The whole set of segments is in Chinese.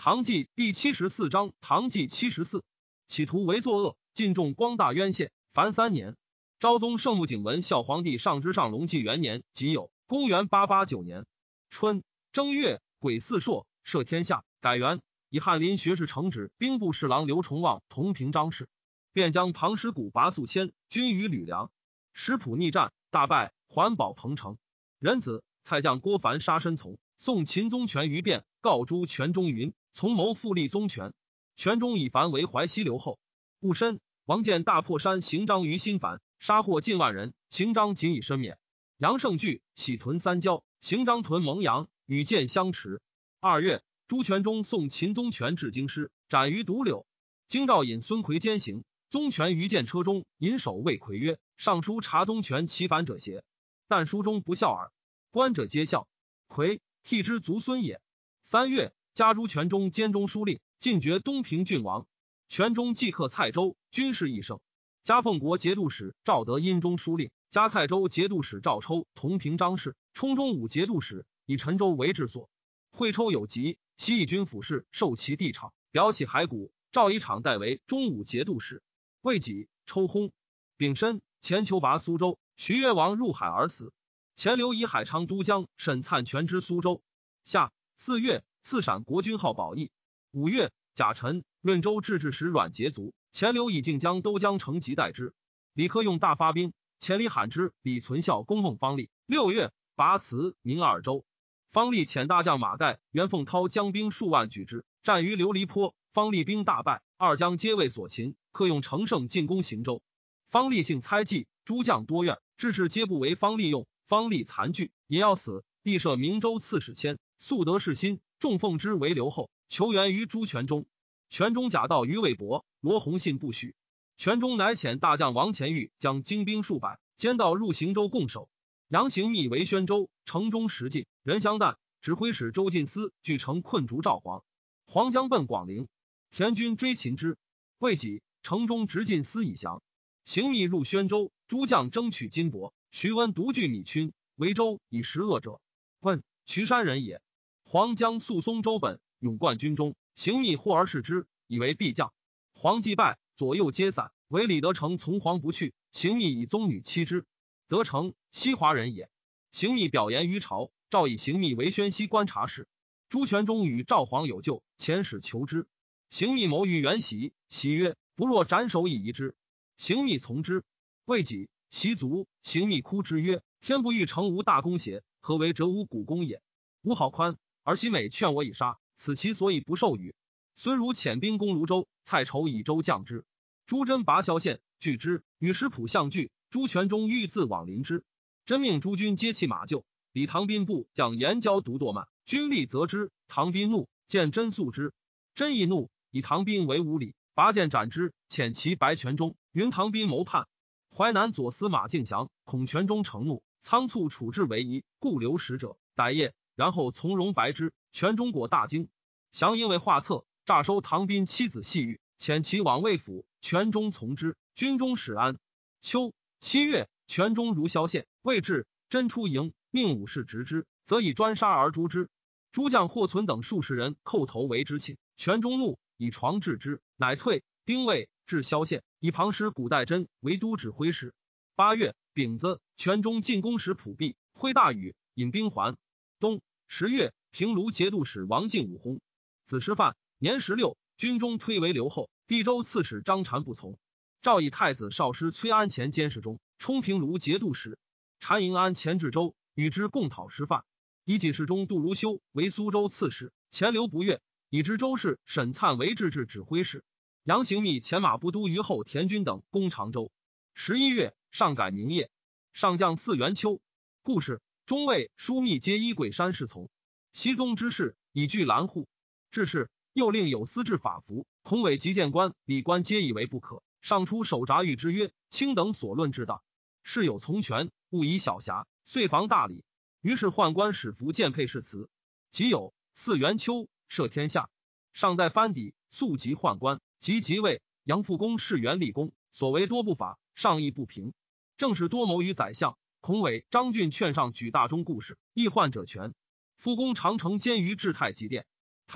唐纪第74章唐纪74。企图为作恶，尽众光大渊县，凡3年。昭宗圣穆景文孝皇帝上之上隆纪元年己酉，公元889年春正月，癸巳朔，赦天下，改元，以翰林学士承旨兵部侍郎刘崇望同平章事，便将庞师古拔宿迁军于吕梁。石浦逆战，大败，还保彭城。仁子蔡将郭凡杀申从，宋秦宗权于变，告诸权中云：从谋复立宗权。权中以凡为淮西留后。戊申，王建大破山行章于新繁，杀获近万人，行章仅以身免。杨胜惧，喜屯三郊，行章屯蒙阳，与建相持。2月，朱全忠送秦宗权至京师，斩于独柳。京兆尹孙奎监行，宗权于见车中，引首谓奎曰：上书查宗权其反者邪？但书中不孝耳。观者皆笑。奎替之族孙也。3月，加朱全忠兼中书令，进爵东平郡王。全忠即克蔡州，军事益盛。加奉国节度使赵德阴中书令，加蔡州节度使赵抽同平章事，充中武节度使，以陈州为治所。会抽有疾，西邑军府事，受其地场，表起骸骨。赵以场代为中武节度使。未己，抽薨。丙申，前求拔苏州，徐越王入海而死。前留以海昌都江，沈粲全之苏州。夏4月，赐陕国君号宝义。5月，甲辰，润州治治使阮捷卒，前留以靖江都江城及代之。李克用大发兵，前李罕之、李存孝攻孟方立。6月，拔辞明二州。方立遣大将马盖、袁凤涛将兵数万举之，战于琉璃坡，方立兵大败，二将皆为所擒。克用乘胜进攻行州。方立性猜忌，诸将多怨，志士皆不为方立用。方立残惧，也要死。帝赦明州刺史谦，素得世心，重奉之为留后，求援于朱全忠。全忠假道于魏博，罗弘信不许。全忠乃遣大将王乾玉将精兵数百，兼道入行州共守。杨行密为宣州，城中食尽，人相惮。指挥使周进思据城困逐赵黄，黄将奔广陵，田军追擒之。未几，城中直进思以降。行密入宣州，诸将争取金帛。徐温独据米群，为州以食恶者。问渠山人也。黄将肃松州本，勇冠军中。行密获而视之，以为必将。黄既败，左右皆散，唯李德成从黄不去。行密以宗女妻之。德成，西华人也。行密表言于朝，诏以行密为宣西观察使。朱全忠与赵黄有旧，遣使求之。行密谋于元袭，袭曰：不若斩首以夷之。行密从之。未几，袭卒，行密哭之曰：天不欲成无大功邪？何为折无古功也？吾好宽，而西美劝我以杀，此其所以不受与。孙儒遣兵攻泸州，蔡筹以州降之。朱真拔萧县，拒之，与石浦相拒。朱全忠欲自往临之，真命诸军皆弃马救。李唐宾部将严交独堕慢，军力责之。唐宾怒，见真诉之。真亦怒，以唐宾为无礼，拔剑斩之，遣其白全忠，云唐宾谋叛。淮南左司马敬祥恐全忠成怒，仓促处置为宜，故留使者逮夜，然后从容白之。全忠果大惊。祥因为画策，诈收唐宾妻子细玉，遣其往魏府，全忠从之。军中始安。秋7月，全忠如萧县，未至，真出营，命武士执之，则以专杀而诛之。诸将霍存等数十人叩头为之寝，全忠怒，以床治之，乃退。丁未，至萧县，以庞师古代真为都指挥使。8月，丙子，全忠进攻石浦壁，挥大雨，引兵还。冬10月，平卢节度使王进武薨。子师范，年16，军中推为留后。地州刺史张禅不从，诏以太子少师崔安前监视中，充平卢节度使。禅迎安前至州，与之共讨师范。以己事中杜如修为苏州刺史，前留不悦，以知州事沈粲为制指挥使。杨行密前马不都虞候田军等攻常州。11月，上改名业，上将4元秋。故事中尉枢密皆依桂山侍从。熹宗之事，以据蓝户。至是，又令有司制法服，孔伟及谏官、礼官皆以为不可。上出手札谕之曰：卿等所论之大，事有从权，勿以小瑕，遂防大礼。于是宦官使服见配誓词。即有4元秋，赦天下。上在藩邸，速及宦官，即位。杨复公是元立功，所为多不法，上议不平。正是多谋于宰相。孔伟、张俊劝上举大中故事，议宦者权。复公常乘监于至太极殿。他日，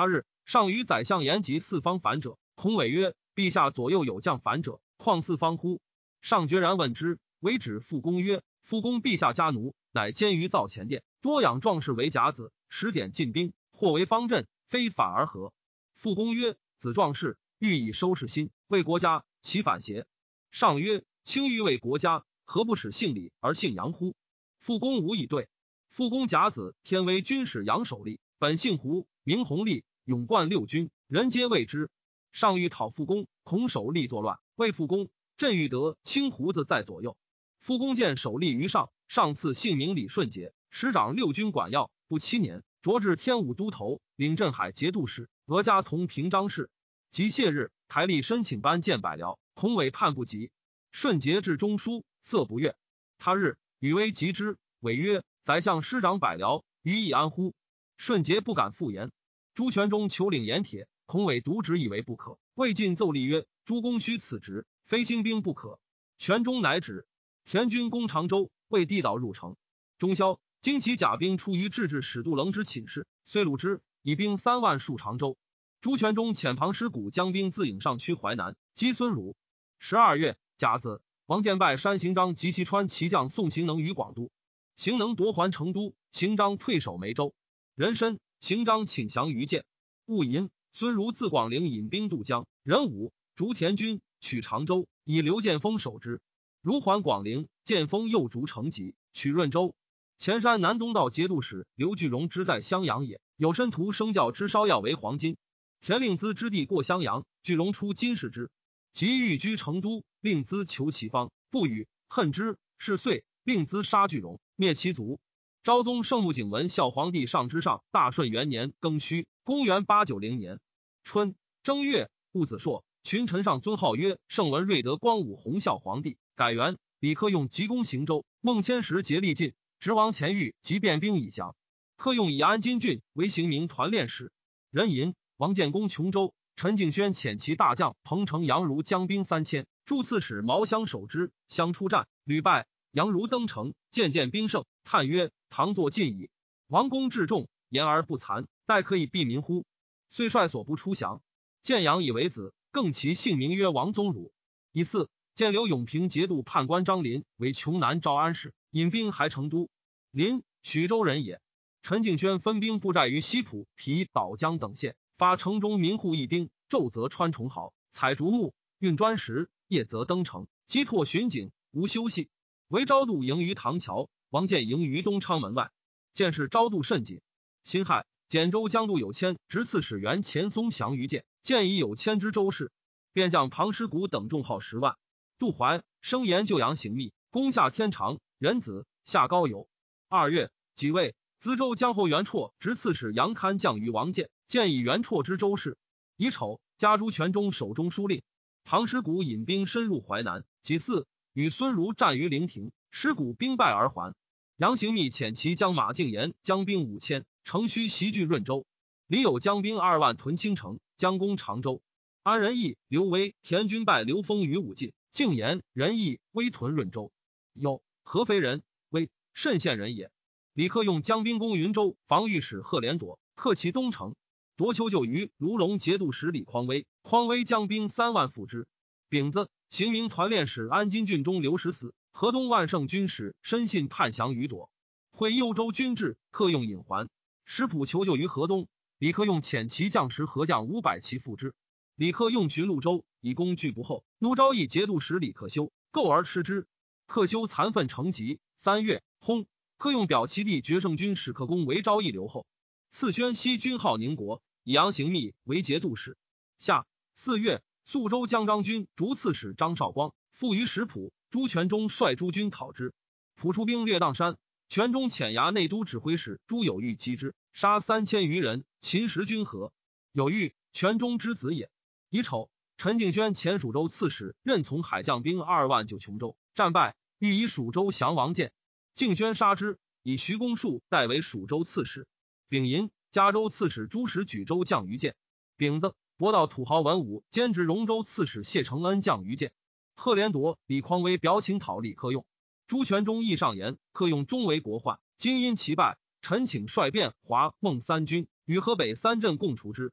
上与宰相言及四方反者，孔伟曰：陛下左右有将反者，况四方乎？上决然问之，为止复公曰：复公陛下家奴，乃监于造前殿，多养壮士为甲子，使点进兵，或为方阵，非反而何？复公曰：子壮士，欲以收拾心，为国家，其反邪？上曰：卿欲为国家，何不使姓李而姓杨乎？复公无以对。复公甲子，天威军使杨守立，本姓胡，名弘立，勇冠六军，人皆畏之。上欲讨复公，恐守立作乱，谓复公：朕欲得青胡子在左右。复公见守立于上，上赐姓名李顺节，使掌六军管要，不7年，擢至天武都头，领镇海节度使，俄加同平章事。及谢日，台吏申请班见百僚，孔伟叛不及。顺节至中书，色不悦。他日，与威及之，伟曰：宰相师长百僚，于以安乎？顺节不敢复言。朱全忠求领盐铁，孔伟独执以为不可，魏晋奏立曰：诸公须辞职，非兴兵不可。全忠乃止。田军攻常州，为地道入城。中宵，经其甲兵出于制使杜棱之寝室，遂虏之，以兵3万戍常州。朱全忠遣庞师古将兵自颍上驱淮南，击孙儒。12月甲子，王建拜山行章及其川骑将宋行能于广都，行能夺还成都，行章退守梅州。壬申，行章请降于建。戊寅，孙儒自广陵引兵渡江。壬午，逐田军，取常州，以刘建锋守之。如还广陵，建锋又逐成吉，取润州。前山南东道节度使刘巨荣之在襄阳也，有申屠生教之烧药为黄金。田令孜之地过襄阳，巨荣出金使之，即欲居成都，令孜求其方，不与，恨之。是岁，令孜杀巨荣，灭其族。昭宗圣穆景文孝皇帝上之上大顺元年庚戌，公元890年春正月，戊子朔，群臣上尊号曰圣文睿德光武弘孝皇帝。改元，李克用急攻行州，孟谦时竭力尽，直王前御即便兵以降。克用以安金郡为行名团练使。壬寅，王建攻琼州，陈敬轩遣其大将彭城杨儒将兵3000，助刺史毛相守之，相出战，屡败。杨儒登城，渐兵胜，叹曰：唐作尽矣。王公至重，言而不残，待可以避民乎？遂率所不出降。建阳以为子，更其姓名曰王宗儒。以4，建刘永平节度判官张林为邛南招安使，引兵还成都。林，徐州人也。陈敬轩分兵布寨于西浦、皮、岛江等县，发城中民户一丁，昼则穿重壕，采竹木，运砖石，夜则登城，击拓巡警，无休息。为昭度营于唐桥，王建营于东昌门外。建事昭度甚紧。辛亥，简州江度有谦执刺史元钱松降于建，建以有谦之州事，便将庞师古等重号10万。杜怀生言就阳行密，攻下天长、仁子、下高邮。2月己未，淄州江侯袁绰执刺史杨堪降于王建，建以袁绰之州事。乙丑，加朱全忠守中书令。庞师古引兵深入淮南。己巳，与孙儒战于陵亭，师古兵败而还。杨行密遣其将马敬言将兵5000，乘虚袭据润州。李有将兵2万屯青城，将攻常州。安仁义、刘威、田军败刘封于武进。敬言、仁义、威屯润州。有合肥人，为慎县人也。李克用将兵攻云州，防御使贺连铎克其东城。夺求救于卢龙节度使李匡威，匡威将兵3万赴之。丙子，行名团练使安金郡中刘石死，河东万胜军使申信叛降于朵。会幽州军至，克用引还。石浦求救于河东，李克用遣其将士河将500骑赴之。李克用寻潞州，以攻拒不后，怒昭义节度使李克修，构而吃之。克修残愤成疾。3月，薨。克用表其弟决胜军使克公为昭义留后。赐宣西军号宁国，以杨行密为节度使。夏4月，肃州江张军逐刺史张绍光，附于石浦。朱全忠率诸军讨之，普出兵略砀山。全忠遣衙内都指挥使朱有玉击之，杀3000余人，秦时军和。有玉，全忠之子也。乙丑，陈敬轩前蜀州刺史，任从海将兵2万救琼州，战败，欲以蜀州降王建。敬轩杀之，以徐公树代为蜀州刺史。丙寅，嘉州刺史朱实举州降于建。丙子，博道土豪文武兼职荣州刺史谢承恩降于建。贺连铎、李匡威表请讨李克用。朱全忠议上言，克用终为国患，今因其败，臣请率便华、孟3军与河北3镇共除之。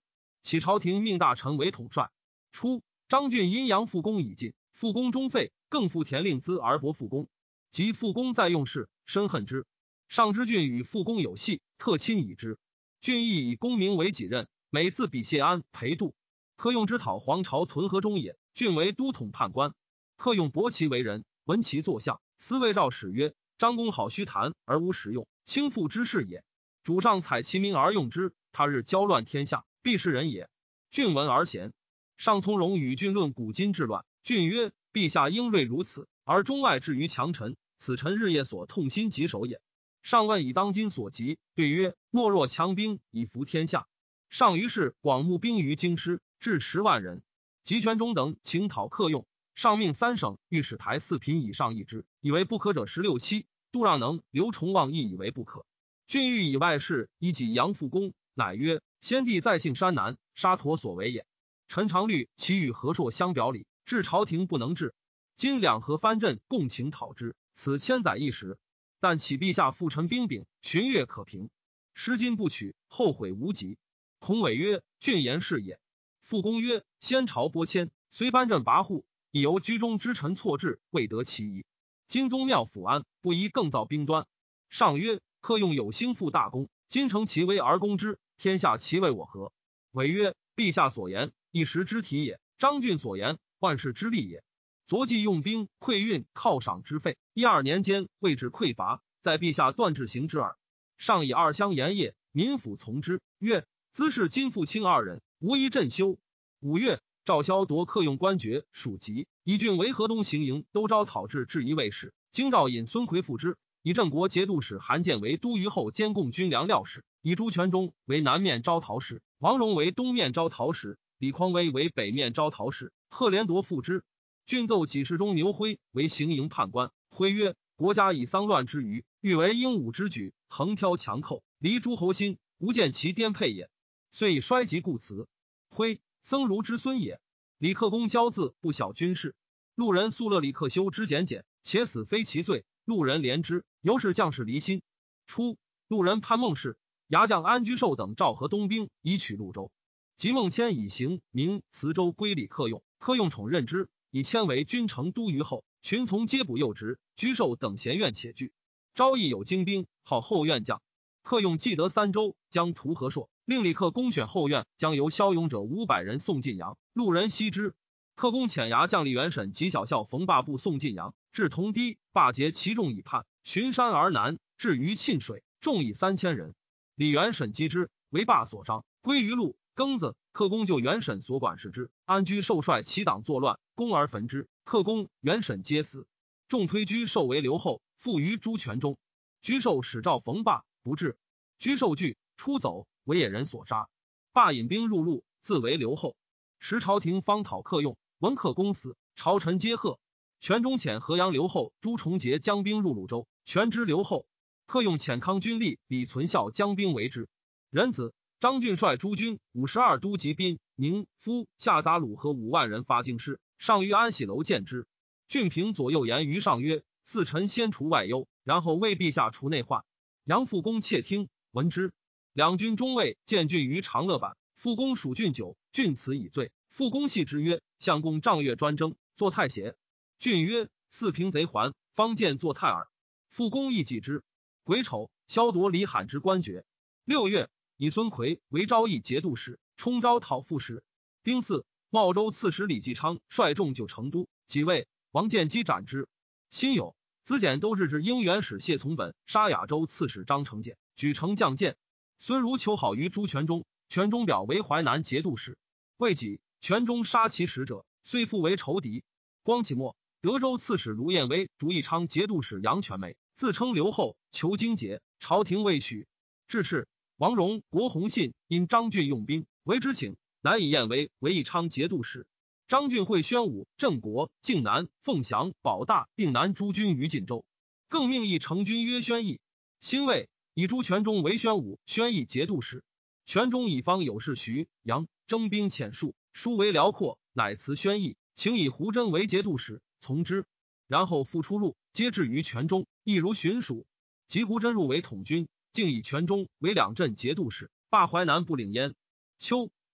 启朝廷命大臣为统帅。初，张俊因杨复公已尽，复公终废，更复田令孜而薄复公。及复公在用事，深恨之。上知郡与复公有隙，特亲以之。郡亦以公名为己任，每自比谢安、裴度。客用之讨黄巢屯河中也，郡为都统判官。客用伯其为人，闻其作相，司谓诏使曰：张公好虚谈而无实用，轻负之事也。主上采其名而用之，他日交乱天下，必是人也。郡闻而贤。上从容与郡论古今治乱。郡曰：陛下英锐如此，而中外至于强臣，此臣日夜所痛心疾首也。上问以当今所急，对曰：莫若强兵以服天下。上于是广募兵于京师，至10万人。及权中等请讨客用，上命3省御史台4品以上议之，以为不可者16期。杜让能、刘崇望亦以为不可。郡欲以外事以己杨复公，乃曰：先帝在幸山南，沙陀所为也。臣常虑其与和硕相表里，至朝廷不能治。今两河藩镇共请讨之，此千载一时。但启陛下复陈兵柄，巡阅可平。失今不取，后悔无及。孔伟曰：郡言是也。复公曰：先朝拨迁，虽藩镇跋扈，亦由居中之臣错置，未得其宜。今宗庙抚安，不宜更造兵端。上曰：客用有兴复大功，今乘其威而攻之，天下其为我何？伟曰：陛下所言，一时之体也；张俊所言，万世之利也。昨既用兵馈运犒赏之费，12年间未至匮乏，在陛下断制行之耳。上以2乡盐业，民府从之，曰：兹是今复卿2人，无一振修。5月，赵萧夺客用官爵属籍，以郡为河东行营都招讨制至一卫士。京兆尹孙奎复之，以郑国节度使韩建为都虞候监贡军粮料使，以朱全忠为南面招讨使，王荣为东面招讨使，李匡威为北面招讨使。贺连铎复之。郡奏给事中牛辉为行营判官。辉曰：国家以丧乱之余，欲为英武之举，横挑强寇，离诸侯心，无见其颠沛也。遂以衰及故辞。辉，僧孺之孙也。李克公骄恣，不晓军事。路人素乐李克修之简简，且死非其罪，路人怜之，由是将士离心。初，路人潘孟氏、牙将安居寿等召合东兵，以取潞州。及孟谦以行明磁州归李克用，克用宠任之，以迁为军城都虞候，群从皆补右职，居寿等贤愿且惧。昭义有精兵，号后院将。克用既得3州，将屠和硕，令李克公选后院，将由骁勇者500人送晋阳。路人悉之。克公遣牙将李元审及小校冯霸部送晋阳，至同堤，霸劫其众以叛，循山而南，至于沁水，众以3000人。李元审击之，为霸所伤，归于路。庚子，克公就元审所管事之，安居受率其党作乱，攻而焚之。克公、元审皆死。众推居寿为留后，附于朱全忠。居寿使召冯霸，不至。居寿惧，出走，为野人所杀。霸引兵入路，自为留后。时朝廷方讨克用，闻克公死，朝臣皆贺。全忠遣河阳留后朱重节将兵入潞州，全之留后。克用遣康军吏李存孝将兵为之。壬子，张俊率诸军52都及宾、宁、夫、下杂鲁和5万人发京师，上于安喜楼见之。俊平左右言于上曰：四臣先除外忧，然后为陛下除内患。杨复公窃听，闻之。两军中尉见俊于长乐坂，复公属俊久，俊辞以罪。复公系之曰：相公仗月专征，作太邪。俊曰：四平贼还，方见作太耳。复公亦记之。癸丑，萧夺李罕之官爵。6月，以孙奎为昭义节度使，充招讨副使。丁巳，茂州刺史李继昌率众就成都，即位，王建基斩之。辛酉，子简都制之应元使谢从本杀亚州刺史张承简，举城将谏。孙如求好于朱全忠，全忠表为淮南节度使。未几，全忠杀其使者，遂复为仇敌。光启末，德州刺史卢彦威、竹义昌节度使杨全美自称留后，求荆节，朝廷未许。至是，王荣、郭弘信因张俊用兵，为之请，乃以彦威为义昌节度使。张俊会宣武、郑国、靖南、凤翔、保大、定南诸军于晋州，更命议成军曰宣义。辛未，以朱全忠为宣武、宣义节度使。全忠以方有事徐、杨征兵遣戍，书为辽阔，乃辞宣义，请以胡真为节度使，从之。然后复出入，皆至于全忠，亦如巡属。及胡真入为统军，竟以全忠为2镇节度使，罢淮南不领焉。秋，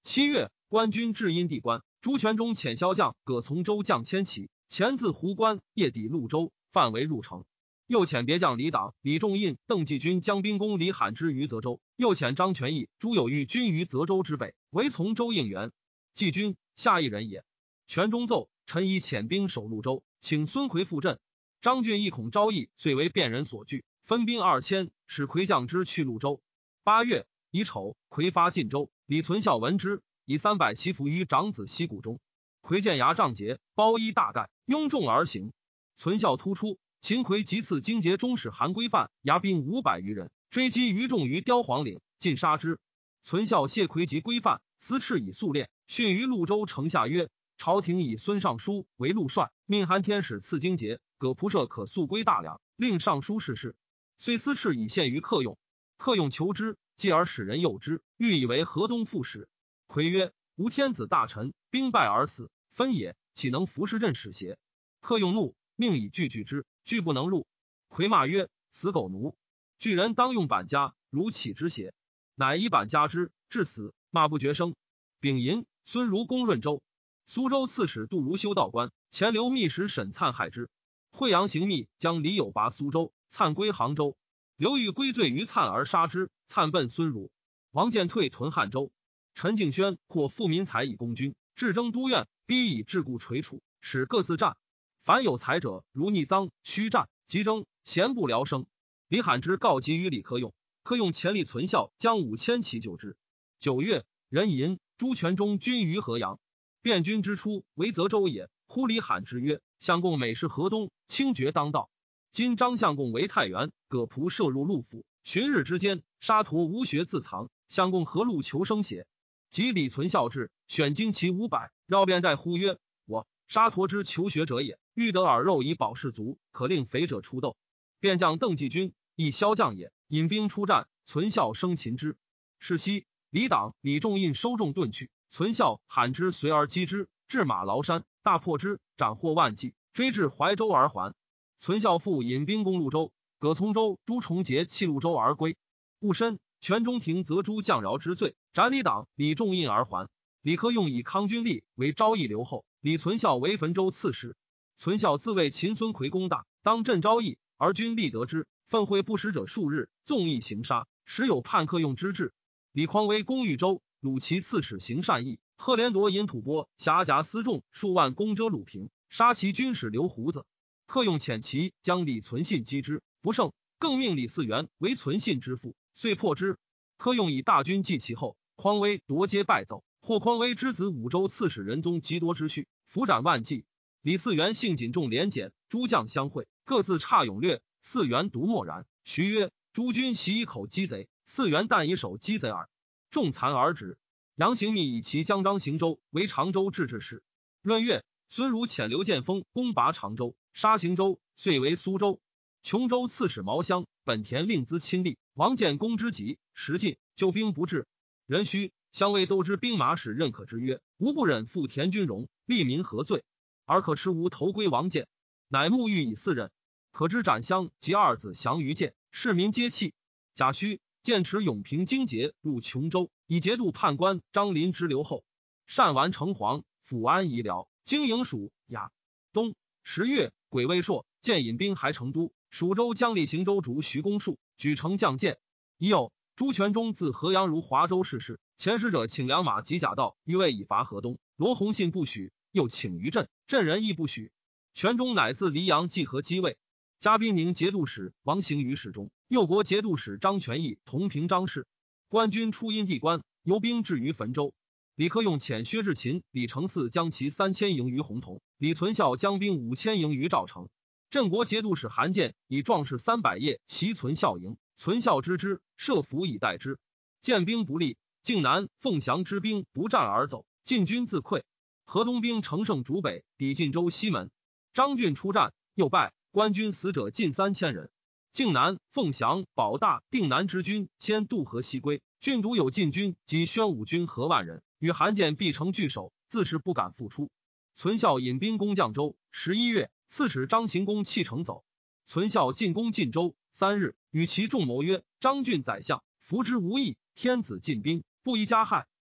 7月，官军至阴地关，朱全忠遣骁将葛从周将千骑，前自湖关，夜抵潞州，范围入城。又遣别将李党、李仲印、邓继军将兵攻李罕之于泽州，又遣张全义、朱有玉军于泽州之北，为从周应援。继军，下一人也。全忠奏，臣以遣兵守潞州，请孙奎复阵。张俊亦恐昭义，遂为便人所惧，分兵2000，使魁将之去潞州。8月，乙丑，魁发晋州，李存孝闻之，以300骑伏于长子西谷中。魁见牙仗节，包衣大盖，拥众而行。存孝突出，秦馗即赐荆节中使韩规范，牙兵500余人，追击于众于雕黄岭，尽杀之。存孝谢馗及规范，私敕以速练，训于潞州城下曰：朝廷以孙尚书为陆帅，命韩天使赐荆节，葛仆射可速归大梁，令尚书事事。虽私敕以献于客用，客用求之，继而使人诱之，欲以为河东副使。馗曰：吾天子大臣，兵败而死，分也，岂能服侍任使邪？客用怒，命以拒之，拒不能入。馗骂曰：死狗奴！巨人当用板家，如岂之邪？乃以板加之，至死，骂不绝声。丙寅，孙如攻润州。苏州刺史杜如修道官，前留密使沈粲害之。惠阳行密将李友拔苏州，粲归杭州。刘裕归罪于粲而杀之，粲奔孙儒。王建退屯汉州。陈敬轩获富民财以攻军，至征都院，逼以桎梏垂楚，使各自战。凡有才者，如逆赃、虚战、急征，咸不聊生。李罕之告急于李克用，克用前力存孝，将5000骑救之。9月，壬寅，朱全忠军于河阳。汴军之初，为泽州也。呼李罕之曰：相公每是河东，清绝当道。今张相公为太原，葛仆射入陆府，旬日之间，沙陀无学自藏，相公何路求生邪？及李存孝至，选精骑500，绕遍寨呼曰：我沙陀之求学者也，欲得耳肉以保士卒，可令肥者出斗。便将邓继军，亦骁将也，引兵出战，存孝生擒之。是夕，李党、李仲印收众遁去，存孝、罕之随而击之，至马崂山，大破之，斩获万计，追至怀州而还。存孝复引兵攻潞州，葛从周、朱重节弃潞州而归。戊申，全中庭责诸将饶之罪，斩李党、李仲印而还。李克用以康君立为昭义留后，李存孝为汾州刺史。存孝自谓秦孙奎功大，当镇昭义，而君立得之，愤会不食者数日，纵意行杀，时有叛克用之志。李匡威攻豫州，鲁其刺史行善义，赫连夺引吐蕃，辖甲私众数万，攻遮鲁平，杀其军使刘胡子。克用遣骑将李存信击之，不胜，更命李嗣源为存信之父，遂破之。克用以大军继其后，匡威夺皆败走，获匡威之子武州刺史仁宗极多之序，伏斩万计。李嗣源性谨重廉俭，诸将相会，各自差勇略，嗣源独默然。徐曰：诸军袭以口击贼，嗣源但以手击贼耳。众残而止。杨行密以其将张行州为常州制置使。闰月，孙儒遣刘建锋攻拔常州，杀行州，遂为苏州。琼州刺史毛乡、本田令资亲历，王建功之急，时尽，救兵不至。壬戌，乡尉都之兵马使认可之曰：吾不忍负田军容，利民何罪？而可持吾头归王建，乃沐浴以4任。可知斩乡及2子降于建，市民皆弃。甲戌，建持永平荆节入琼州，以节度判官张林之留后。单完城隍，抚安夷辽，经营属雅。冬10月，癸未朔，建引兵还成都。蜀州将立行州卒徐公树，举城将建。已有朱全忠自河阳如华州事，前使者请良马及甲道，欲为以伐河东。罗弘信不许，又请于镇，镇人亦不许。全忠乃自黎阳济河击位。嘉宾宁节度使王行于侍中，右国节度使张全义同平章事。官军出阴地关，游兵至于汾州。李克用遣薛志勤、李承嗣将其3000营于洪洞，李存孝将兵5000营于赵城。镇国节度使韩建以壮士300夜袭存孝营，存孝知之，设伏以待之。建兵不利，靖南、凤翔之兵不战而走，晋军自溃。河东兵乘胜逐北，抵晋州西门。张俊出战，又败，官军死者近3000人。靖南、凤翔、保大、定南之军迁渡河西归，郡独有晋军及宣武军合万人，与韩建必城拒守，自是不敢复出。存孝引兵攻绛州。11月，刺史张行公弃城走。存孝进攻晋州，3日，与其众谋曰：张俊宰相，服之无益，天子进兵，不宜加害。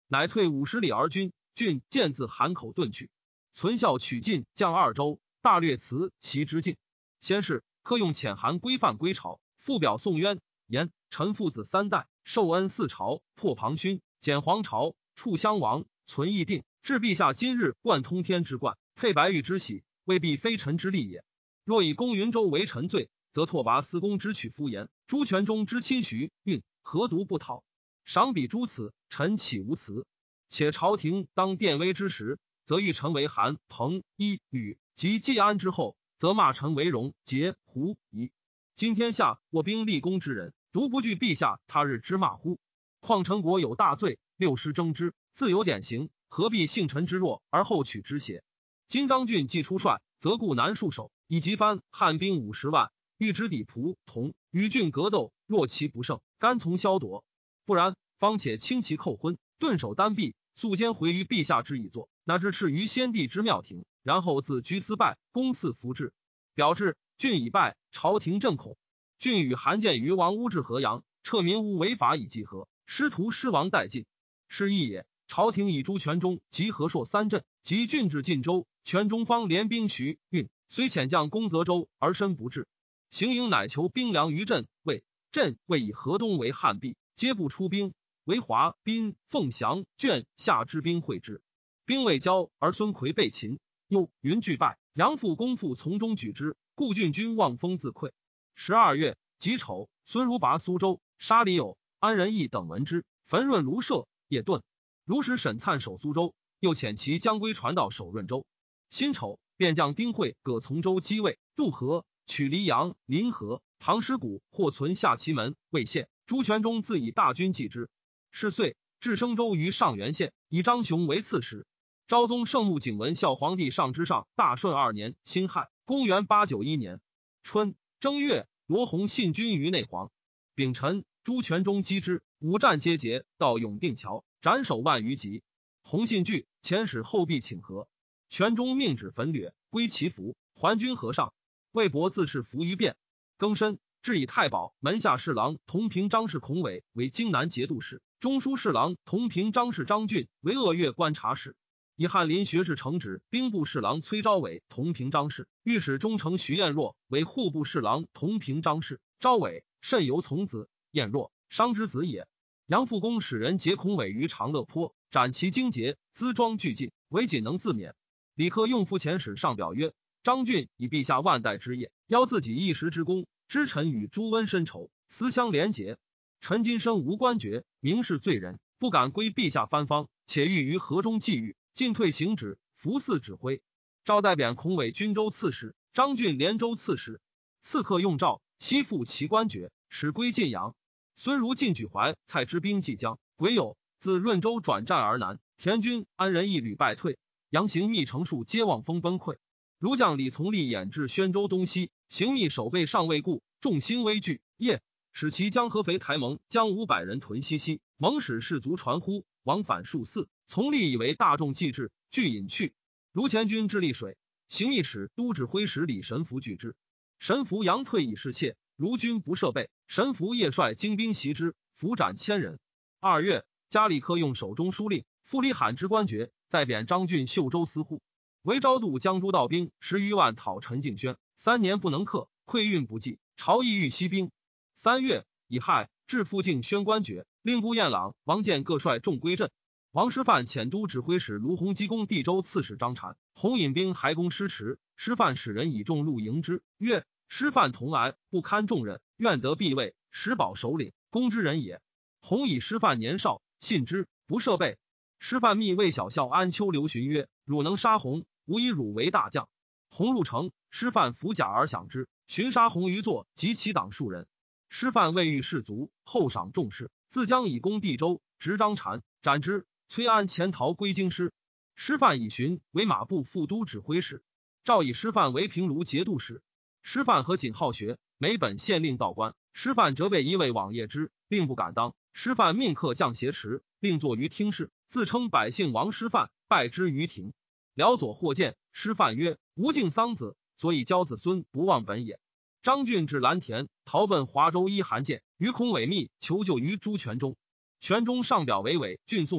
乃退50里而军。郡见自韩口遁去。存孝取晋将2州，大略辞其之境。先是，客用遣韩规范归朝，复表宋渊言臣父子3代，受恩4朝，破庞勋，减黄巢，处襄王，存义定，至陛下今日贯通天之冠，配白玉之喜，未必非臣之力也。若以公云州为臣罪，则拓跋思恭之取夫言，朱全忠之亲徐运，何独不讨？赏彼诸此，臣岂无辞？且朝廷当殿威之时，则欲臣为韩、彭、伊、吕及季安之后，则骂臣为荣、节、胡、夷。今天下我兵立功之人，独不惧陛下他日之骂乎？况陈国有大罪，6师争之，自有典刑，何必幸臣之弱而后取之邪？今张俊既出帅，则固难戍守，以及藩汉兵50万，欲之抵蒲、同，与郡格斗，若其不胜，甘从削夺。不然，方且轻其寇昏，顿首单臂，速兼回于陛下之以作，乃至斥于先帝之庙庭，然后自居司拜，公嗣服制。表至郡已败，朝廷震恐。郡与韩建于王屋至河阳，撤民屋违法以济和，师徒失亡殆尽。是义也。朝廷以朱全忠及和硕3镇，及郡至晋州，全忠方联兵徐运，虽遣将攻泽州，而身不至。行营乃求兵粮于镇魏，镇魏以河东为汉壁，皆不出兵，为华、滨、凤翔、卷下之兵会之。兵未交，而孙奎被擒，又云俱败，杨复公复从中举之，故郡君望风自溃。12月己丑，孙如拔苏州，杀李友、安仁义等闻之，焚润卢舍，夜遁。卢使沈粲守苏州，又遣其将归传道守润州。辛丑，便将丁会、葛从州击魏，渡河，取黎阳、临河、唐师谷，或存下其门，未陷。朱全忠自以大军继之。是岁，至升州于上元县，以张雄为刺史。昭宗圣穆景文孝皇帝上之上大顺2年辛亥，公元891年春正月，罗弘信军于内黄。丙辰，朱全忠击之，五战皆捷，到永定桥，斩首万余级。弘信惧，遣使后必请和。全忠命止焚掠，归其服，还军河上。魏博自恃服于变。庚申，至以太保门下侍郎同平张氏孔伟为荆南节度使，中书侍郎同平张氏张俊为鄂越观察使。以翰林学士承旨兵部侍郎崔昭伟同平张氏，御史中丞徐彦若为户部侍郎同平张氏。昭伟甚由从子，彦若商之子也。杨复公使人劫孔伟于长乐坡，斩其荆节，辎装俱尽，唯仅能自免。李克用复遣使上表曰：张俊以陛下万代之业，邀自己一时之功，知臣与朱温深仇，思相连结。臣今生无官爵，名是罪人，不敢归陛下藩方，且欲于河中际遇，进退行止，服嗣指挥。赵代贬孔伟军州刺史，张俊连州刺史。刺客用赵，悉复其官爵，使归晋阳。孙如进举怀蔡之兵即将，癸酉，自润州转战而南，田军、安仁义屡败退，杨行密成数皆望风崩溃。卢将李从立掩至宣州东西，行密守备尚未固，众心危惧。夜，使其将合肥台盟将500人屯西溪，蒙使士卒传呼，往返数次。从立以为大众既至，俱引去。卢前军至丽水，行密使都指挥使李神福拒之。神福佯退以示怯，卢军不设备，神福夜率精兵袭之，俘斩1000人。2月，加里克用守中书令，复李罕之官爵，再贬张俊秀州司户。为昭度江诸道兵10余万讨陈敬轩，3年不能克，溃运不济，朝议欲息兵。3月，乙亥，至复敬轩官爵，令姑彦朗、王建各率众归镇。王师范遣都指挥使卢弘基攻地州刺史张禅，弘引兵还攻师池，师范使人以众路迎之，曰：师范同来，不堪重任，愿得避位，实保首领，攻之人也。弘以师范年少，信之，不设备。师范密谓小校安丘留询曰：汝能杀弘，吾以汝为大将。弘入城，师范服甲而享之，寻杀弘于座及其党数人。师范未遇士卒，后赏重士，自将以攻地州，执张禅，斩之。崔安潜逃归京师。师范以寻为马步副都指挥使，诏以师范为平卢节度使。师范和谨好学，每本县令道官。师范责备一位往谒之，令不敢当。师范命客将挟持，令坐于厅室，自称百姓王师范，拜之于庭。辽左或见，师范曰：吾敬桑子，所以教子孙不忘本也。张俊至蓝田，逃奔华州依韩建，与孔伟密求救于朱全忠。全忠上表为伪郡宋渊，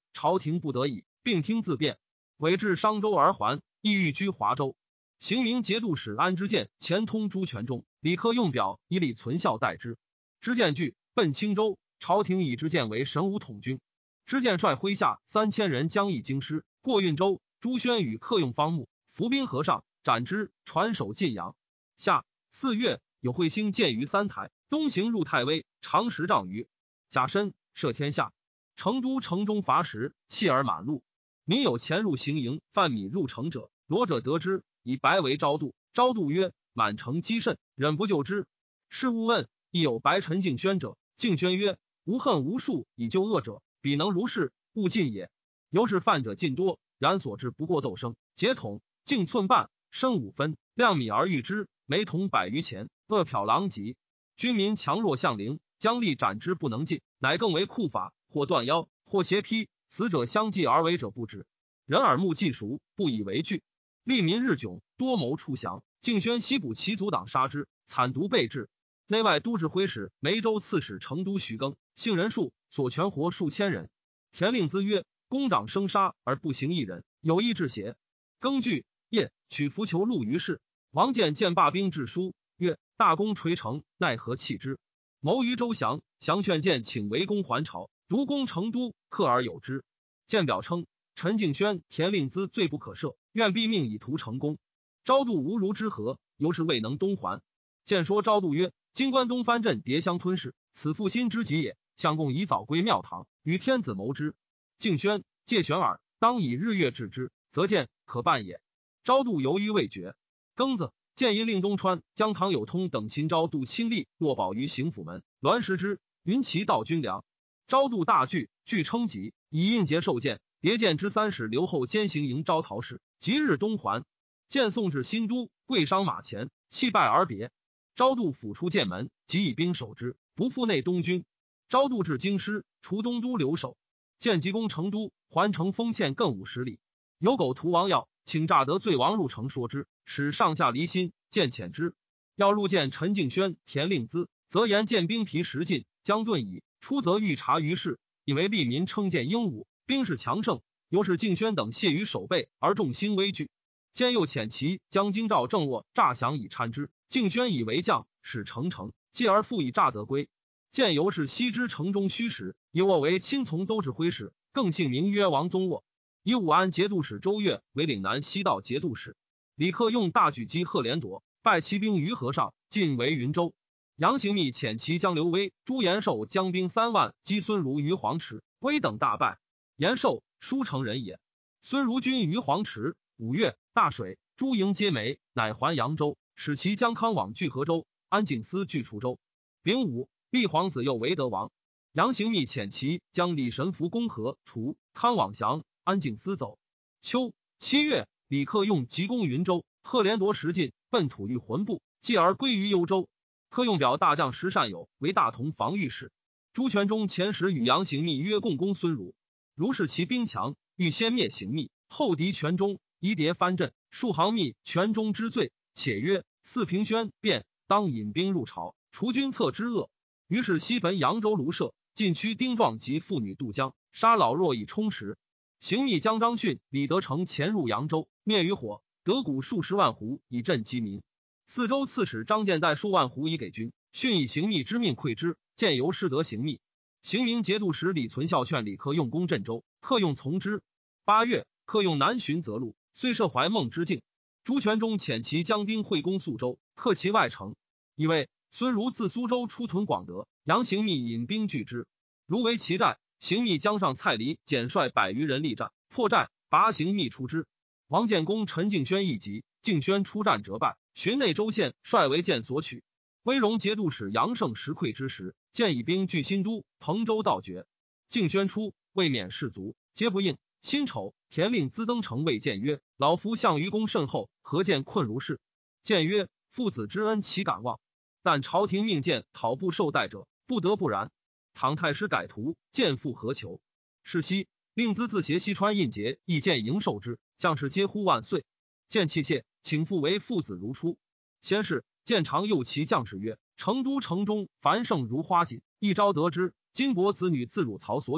朝廷不得已，并听自辩，委至商州而还，意欲居华州。行明节度使安知见前通朱全忠，李克用表以礼存孝待之。知见惧，奔青州，朝廷以知见为神武统军。知见率麾下3000人将议京师，过运州。朱宣与克用方木，伏兵河上，斩之，传首晋阳。夏4月，有彗星见于三台，东行入太微，长10丈余。甲申，赦天下。成都城中乏食，弃而满路。民有潜入行营，贩米入城者，罗者得之，以白为昭度。昭度曰：满城积甚，忍不救之。是勿问，亦有白陈敬轩者。敬轩曰：无恨无数以救恶者，彼能如是，勿尽也。由是犯者尽多，然所至不过斗升、节筒、径寸半，升5分，量米而喻之，每桶100余钱，恶殍狼藉。军民强弱相凌，将力斩之不能尽，乃更为酷法，或断腰，或斜劈，死者相继而为者不止。人耳目既熟，不以为惧。利民日窘，多谋处降。敬轩西捕其族党杀之，惨毒备至。内外都指挥使、梅州刺史成都徐庚，姓人数所全活数千人。田令孜曰：公长生杀而不行一人，有意至邪？庚惧，夜取浮囚戮于市。王建见罢兵致书曰：大功垂成，奈何弃之？谋于周降，降劝谏请围攻还朝，独攻成都，克而有之。谏表称陈敬轩、田令孜罪不可赦，愿毙命以图成功。昭度无如之何，由是未能东还。谏说昭度曰：今关东藩镇迭相吞噬，此负心之急也。相公宜早归庙堂，与天子谋之。敬轩、介玄耳，当以日月治之，则见可办也。昭度犹豫未决。庚子，建议令东川、江唐有通等秦昭度亲力落保于行府门，栾石之，云其道军粮。昭度大惧，具称疾，以印节受谏。迭见之3使留后兼行营招讨使，即日东还。见送至新都，跪商马前，泣拜而别。昭度甫出剑门，即以兵守之，不复内东军。昭度至京师，除东都留守。见急攻成都，还城封县更50里。有狗屠王耀，请诈得罪王入城说之，使上下离心，见遣之。要入见陈敬轩、田令孜，则言见兵疲食尽，将遁矣。出则欲察于事，以为利民称见英武，兵势强盛，由是敬轩等懈于守备，而众心危惧。兼又遣其将京兆正卧诈降以参之，敬轩以为将，使成城，继而复以诈得归。见由是悉知城中虚实，以卧为亲从都指挥使，更姓名曰王宗卧。以武安节度使周越为岭南西道节度使。李克用大举击贺连铎，败骑兵于河上，进为云州。杨行密遣其将刘威、朱延寿将兵3万击孙儒于黄池，威等大败。延寿，舒城人也。孙儒军于黄池。5月，大水，诸营皆没，乃还扬州，使其将康往据河州，安景思据滁州。丙午，立皇子右为德王。杨行密遣其将李神福攻河、滁，康往降，安景思走。秋7月，李克用急攻云州，贺连铎食尽，奔吐欲魂部，继而归于幽州。克用表大将石善友为大同防御使。朱全忠前时与杨行密约共攻孙儒，如是其兵强，欲先灭行密，后敌全忠，疑谍藩镇，数行密全忠之罪，且曰：四平轩变，当引兵入朝，除君侧之恶。于是西焚扬州卢舍，禁区丁壮及妇女渡江，杀老弱以充实。行密将张逊、李德成潜入扬州，灭于火，得谷数十万斛以赈饥民。四州刺史张建带数万斛以给军，逊以行密之命馈之，见由失得行密。行明节度使李存孝劝李克用攻镇州，克用从之。8月，克用南巡泽路，遂设怀孟之境。朱全忠遣其将丁会攻宿州，克其外城。以为孙儒自苏州出屯广德，杨行密引兵拒之，如为其寨。行密将上蔡黎简率100余人力战，破寨，拔行密出之。王建攻陈敬轩一急，敬轩出战折败，寻内州县率为建所取。威荣节度使杨胜实溃之时，建以兵据新都、彭州道绝。敬轩出，未免士卒，皆不应。辛丑，田令孜登城谓建曰：老夫项于公甚厚，何见困如是？建曰：父子之恩岂敢忘？但朝廷命建讨不受待者，不得不然。倘太师改图，建复何求？是夕，令孜自携西川印节，亦建迎受之，将士皆呼万岁。建泣谢，请复为父子如初。先是，建常诱其将士曰：成都城中繁盛如花锦，一朝得之，金帛子女自汝曹所取，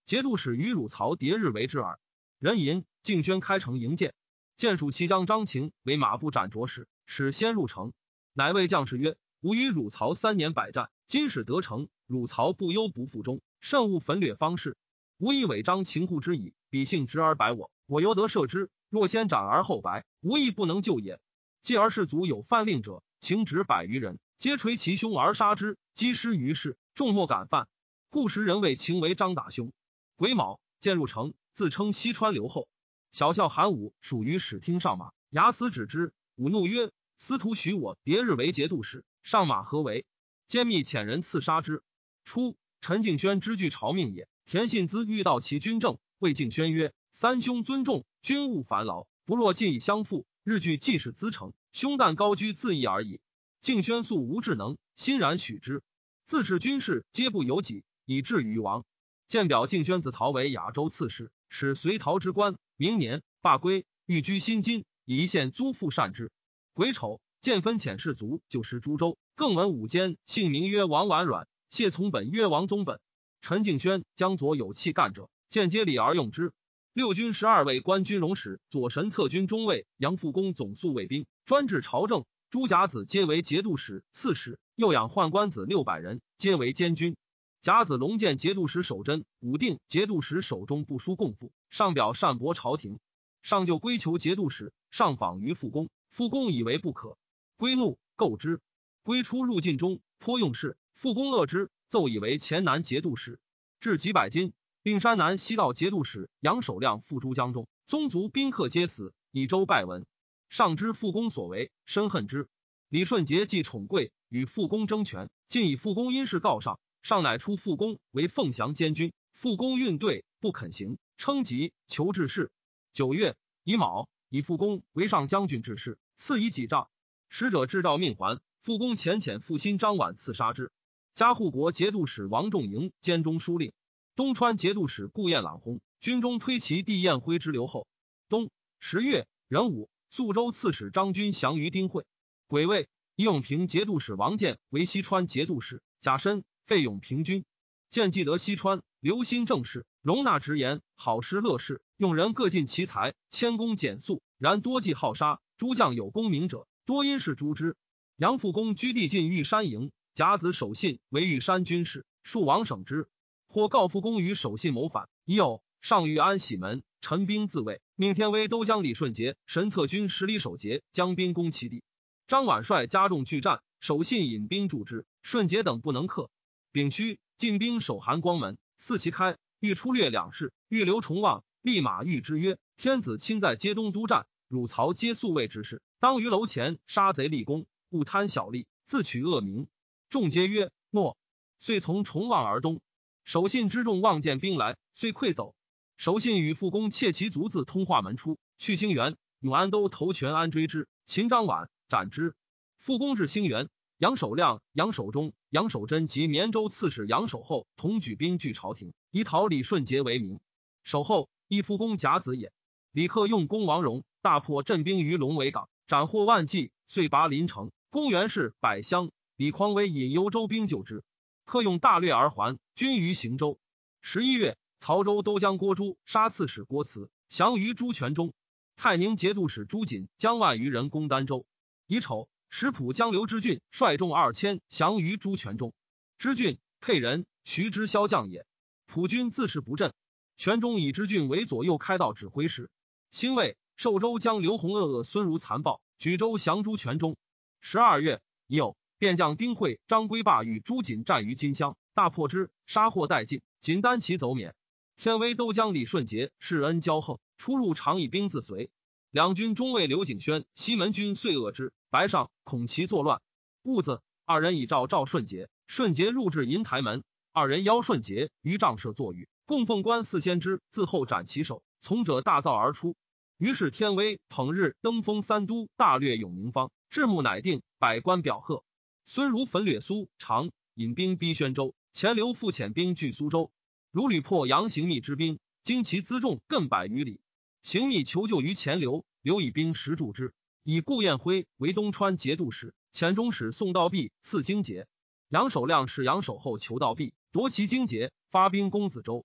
节度使与汝曹迭日为之耳。人吟敬轩开城迎见，见属骑将张晴为马步斩着使，使先入城，乃谓将士曰：吾与汝曹3年百战，今使得城，汝曹不忧不复忠，慎勿焚掠方士。吾以违章秦护之矣，彼性直而白我，我犹得赦之。若先斩而后白，无亦不能救也。继而士卒有犯令者，情止100余人，皆捶其胸而杀之，击失于市，众莫敢犯。故时人谓秦为张打兄。癸卯，渐入城，自称西川留后。小校韩武属于使厅上马，睚眦止之。武怒曰：司徒许我迭日为节度使，上马何为？奸密遣人刺杀之。初，陈敬轩之据朝命也。田信资欲到其军政，谓敬轩曰：三兄尊重，君勿烦劳，不若尽以相负，日据既是资成，兄旦高居自义而已。敬轩素无智能，欣然许之。自是军事皆不由己，以至于亡。见表敬轩子陶为亚州刺史，使随陶之官。明年罢归，寓居新津，以一县租赋善之。癸丑，见分遣士卒就师诸州，更闻武监姓名曰王婉软，谢从本曰王宗本。陈敬轩将左有气干者，见皆礼而用之。六军12位官军容使，左神策军中尉杨复恭总肃卫兵，专治朝政。诸甲子皆为节度使、刺史，又养宦官子600人，皆为监军。甲子龙见节度使守贞，武定节度使手中不书供赋，上表善驳朝廷。上就归求节度使，上访于复恭，复恭以为不可。归怒，购之。归出入晋中，颇用事，复恭恶之，奏以为黔南节度使，至几百金。并山南西道节度使杨守亮赴诸江中，宗族宾客皆死，以州拜闻。上知复恭所为，深恨之。李顺杰既宠贵，与复恭争权，竟以复恭因事告上，上乃出复恭为凤翔监军。复恭运对，不肯行，称疾，求治事。9月，乙卯，以复恭为上将军治事，赐以己杖。使者至诏命还，复恭遣复心张琬刺杀之。加护国节度使王仲营监中书令，东川节度使顾彦朗薨，军中推其弟彦辉之留后。冬10月，壬午，宿州刺史张军降于丁会。癸未，以永平节度使王建为西川节度使，甲申，废永平军。建既得西川，留心政事，容纳直言，好施乐事，用人各尽其才，谦恭简素，然多忌好杀。诸将有功名者，多因事诛之。杨复恭居地进玉山营，甲子守信为玉山军事，数王省之。或告复恭于守信谋反，已有上谕安喜门，陈兵自卫，命天威都将李顺杰、神策军10里守节，将兵攻其地。张琬率加重拒战，守信引兵助之，顺节等不能克。丙戌，进兵守函光门，四旗开，欲出略两市，欲留重望，立马谕之曰：天子亲在街东督战，汝曹皆宿卫之事，当于楼前杀贼立功，勿贪小利，自取恶名。众皆曰诺。遂从重望而东。守信之众望见兵来，遂溃走。守信与复恭窃其卒自通化门出，去兴元，永安都头全安追之，擒张琬，斩之。复恭至兴元，杨守亮、杨守忠、杨守贞及绵州刺史杨守厚同举兵拒朝廷，以讨李顺杰为名。守厚亦复恭甲子也。李克用攻王荣，大破镇兵于龙尾港，斩获万计，遂拔临城。公元氏百乡，李匡威引幽州兵救之。克用大略而还，军于行州。11月，曹州都将郭朱杀刺史郭慈，降于朱全中。泰宁节度使朱瑾将万余人攻儋州。乙丑，石浦江刘之俊率众2000降于朱全中。之俊，沛人，徐之骁将也。普军自是不振。全中以之俊为左右开道指挥使。兴卫，寿州将刘弘恶孙如残暴，举州降朱全中。12月，已有便将丁会、张归霸与朱瑾战于金乡，大破之，杀获殆尽，仅单骑走免。天威都将李顺杰世恩骄横，出入常以兵自随。两军中尉刘景轩、西门军遂遏之。白上恐其作乱，兀子二人以赵顺杰，顺杰入至银台门，二人邀顺杰于帐舍坐语，供奉官4千之，自后斩其首。从者大噪而出。于是天威捧日登封3都，大略永宁方，至暮乃定，百官表贺。孙如焚掠苏常，引兵逼宣州，钱刘复遣兵据苏州。如屡破杨行密之兵，经其辎重更100余里。行密求救于钱刘，刘以兵10助之，以顾彦辉为东川节度使，遣中使宋道弼赐荆节。杨守亮使杨守厚求道弼，夺其荆节，发兵攻子州。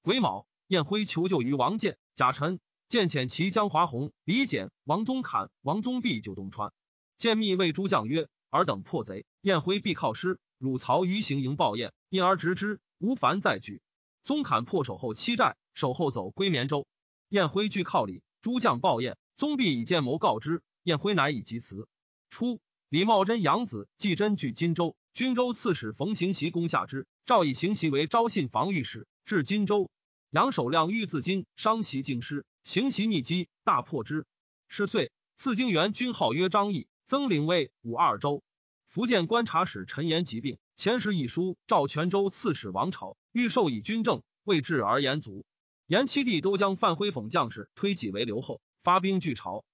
癸卯，晏辉求救于王建、贾臣，建遣其江华洪、李简、王宗侃、王宗弼救东川。建密谓诸将曰：尔等破贼，晏辉必靠师，汝曹于行营报晏，因而执之，无烦再举。宗侃破守后欺寨，守后走归绵州。晏辉据靠里，诸将报晏，宗弼以见谋告之，晏辉乃以疾辞。初，李茂贞养子季真据荆州，军州刺史冯行袭攻下之，诏以行袭为昭信防御使，至荆州。杨守亮欲自荆，伤其京师，行袭逆击，大破之。是岁，赐京原军号曰张毅，增领尉武二州。福建观察使陈延疾病，遣使以书召泉州刺史王朝，欲授以军政，未至而言卒。延七弟都将范辉讽将士推己为留后，发兵拒朝。